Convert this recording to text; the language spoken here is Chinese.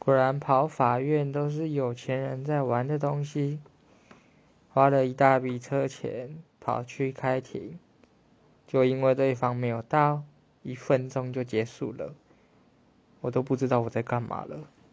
果然跑法院都是有钱人在玩的东西，花了一大笔车钱跑去开庭，就因为对方没有到，1分钟就结束了，我都不知道我在干嘛了。